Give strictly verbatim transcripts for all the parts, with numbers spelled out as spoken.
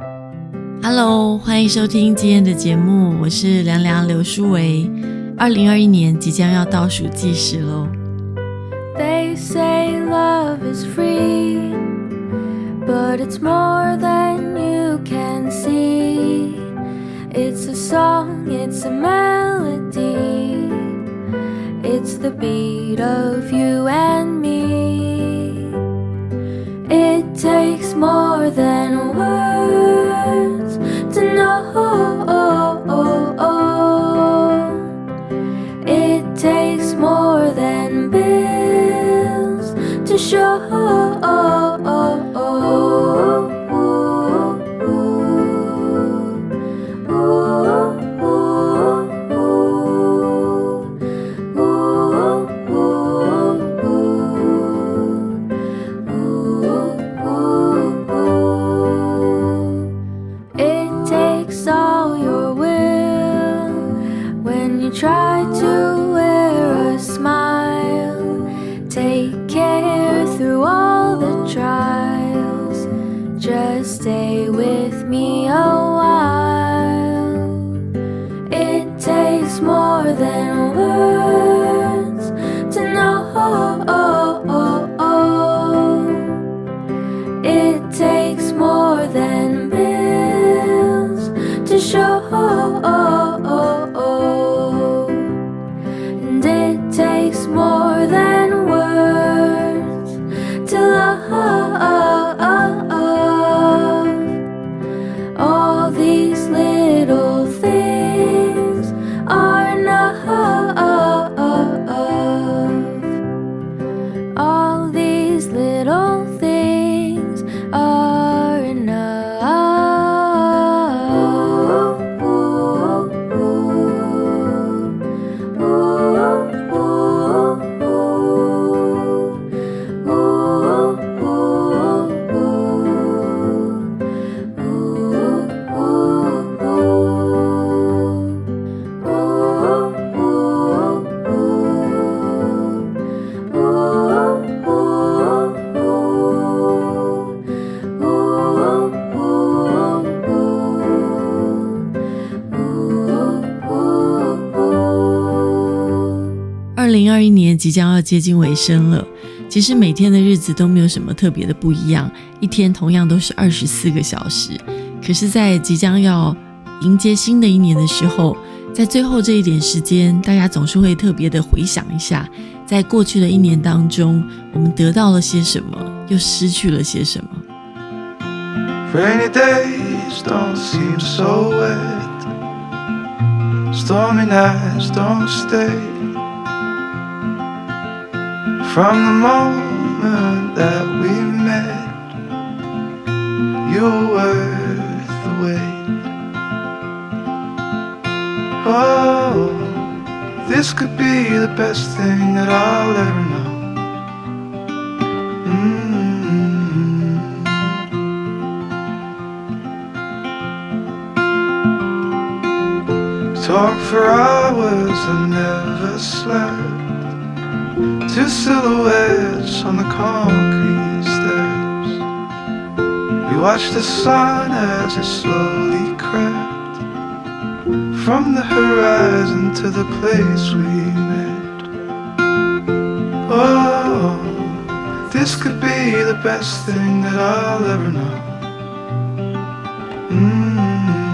Hello， 欢迎收听今天的节目，我是凉凉刘书维。二零二一年即将要倒数计时咯。 They say love is free, but it's more than you can see. It's a song, it's a melody, it's the beat of you and me. It takes more than words to know. It takes more than bills to show. Try to wear a smile, take care through all the trials, just stay with me a while. It takes more than words to know. It takes more than bills to show. Takes more than words to love. All these little things are enough. All these little things are enough. 二零二一年即将要接近尾声了，其实每天的日子都没有什么特别的不一样，一天同样都是二十四个小时。可是在即将要迎接新的一年的时候，在最后这一点时间，大家总是会特别的回想一下，在过去的一年当中，我们得到了些什么，又失去了些什么。 Rainy days don't seem so wet, stormy nights don't stay. From the moment that we met, you were worth the wait. Oh, this could be the best thing that I'll ever know. Mm-hmm. Talk for hours and never slept. Two silhouettes on the concrete steps. We watched the sun as it slowly crept from the horizon to the place we met. Oh, this could be the best thing that I'll ever know. Mm-hmm.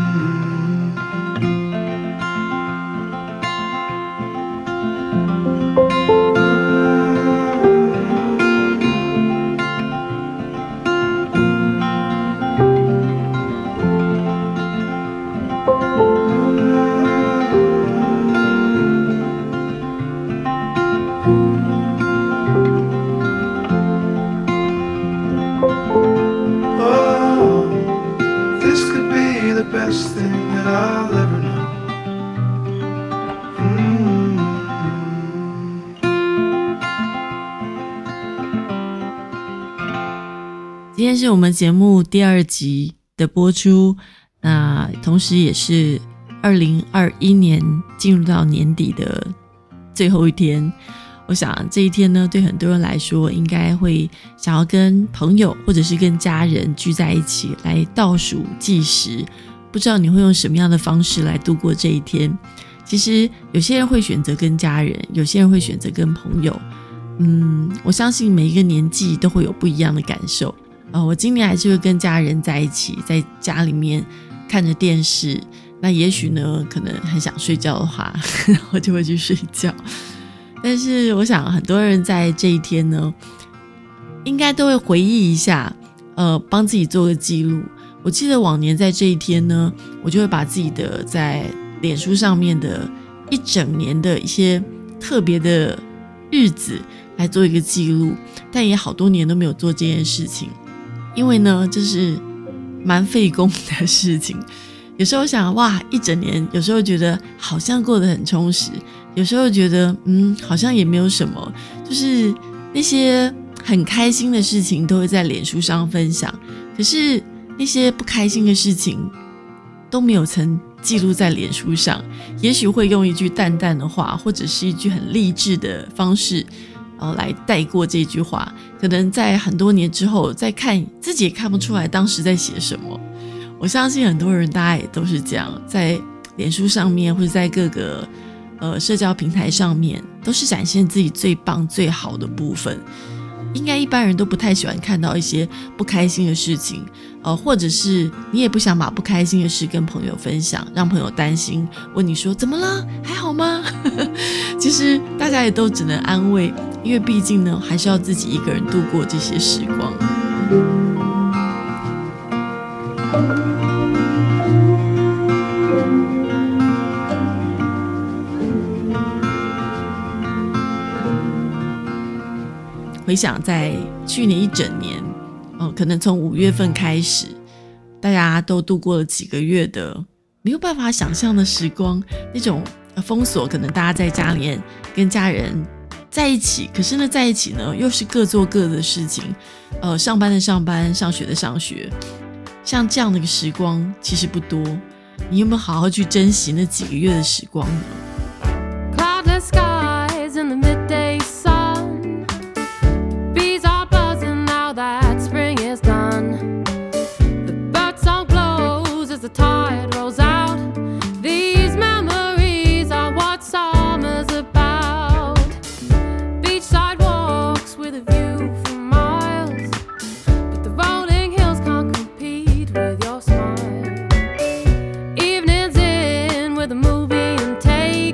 Best thing that I'll ever know. Mm-hmm. 今天是我们节目第二集的播出，那同时也是二零二一年进入到年底的最后一天。 我想这一天呢，对很多人来说应该会想要跟朋友或者是跟家人聚在一起来倒数计时，不知道你会用什么样的方式来度过这一天。其实有些人会选择跟家人，有些人会选择跟朋友。嗯，我相信每一个年纪都会有不一样的感受。呃，我今年还是会跟家人在一起，在家里面看着电视。那也许呢，可能很想睡觉的话，我就会去睡觉。但是我想很多人在这一天呢，应该都会回忆一下，呃，帮自己做个记录。我记得往年在这一天呢，我就会把自己的在脸书上面的一整年的一些特别的日子来做一个记录，但也好多年都没有做这件事情，因为呢，这是蛮费工的事情。有时候想，哇，一整年，有时候觉得好像过得很充实，有时候觉得，嗯，好像也没有什么，就是那些很开心的事情都会在脸书上分享，可是那些不开心的事情都没有曾记录在脸书上。也许会用一句淡淡的话，或者是一句很励志的方式，然后来带过这句话，可能在很多年之后再看，自己也看不出来当时在写什么。我相信很多人大家也都是这样，在脸书上面或者在各个呃社交平台上面，都是展现自己最棒最好的部分。应该一般人都不太喜欢看到一些不开心的事情，呃，或者是你也不想把不开心的事跟朋友分享，让朋友担心，问你说怎么了，还好吗？其实大家也都只能安慰，因为毕竟呢，还是要自己一个人度过这些时光。回想在去年一整年，哦，可能从五月份开始，大家都度过了几个月的没有办法想象的时光，那种封锁，可能大家在家里面跟家人在一起，可是呢，在一起呢又是各做各的事情，呃，上班的上班，上学的上学，像这样的一个时光其实不多。你有没有好好去珍惜那几个月的时光呢？ Cloudless skies in the midday sun, bees are buzzing now that spring is done. The birdsong blows as the tide rolls out. These memories are what summer's about. Beachside walks with a view for miles, but the rolling hills can't compete with your smile. Evenings in with a movie and tape,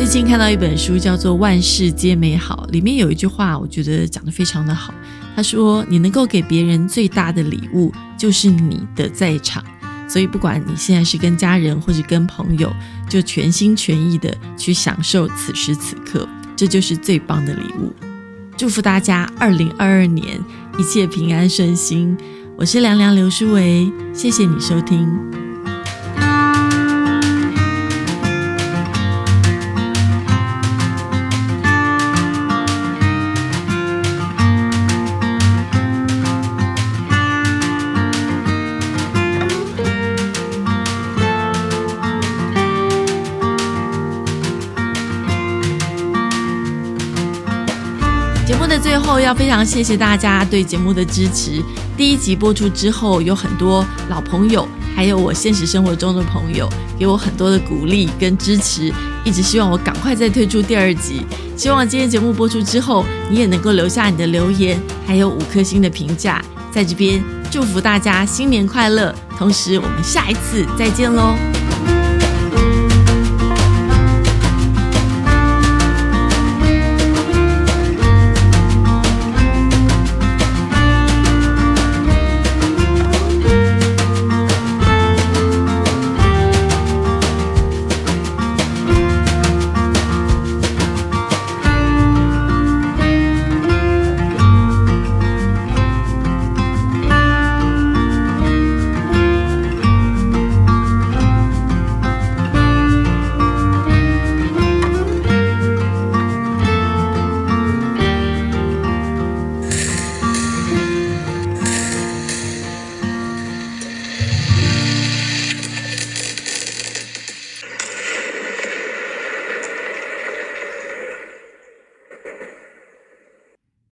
近看到一本书叫做《万事皆美好》，里面有一句话我觉得讲得非常的好，他说你能够给别人最大的礼物就是你的在场，所以不管你现在是跟家人或是跟朋友，就全心全意的去享受此时此刻，这就是最棒的礼物。祝福大家二零二二年一切平安顺心，我是凉凉刘书维，谢谢你收听。节目的最后要非常谢谢大家对节目的支持。第一集播出之后，有很多老朋友还有我现实生活中的朋友给我很多的鼓励跟支持，一直希望我赶快再推出第二集。希望今天节目播出之后，你也能够留下你的留言还有五颗星的评价。在这边祝福大家新年快乐，同时我们下一次再见咯。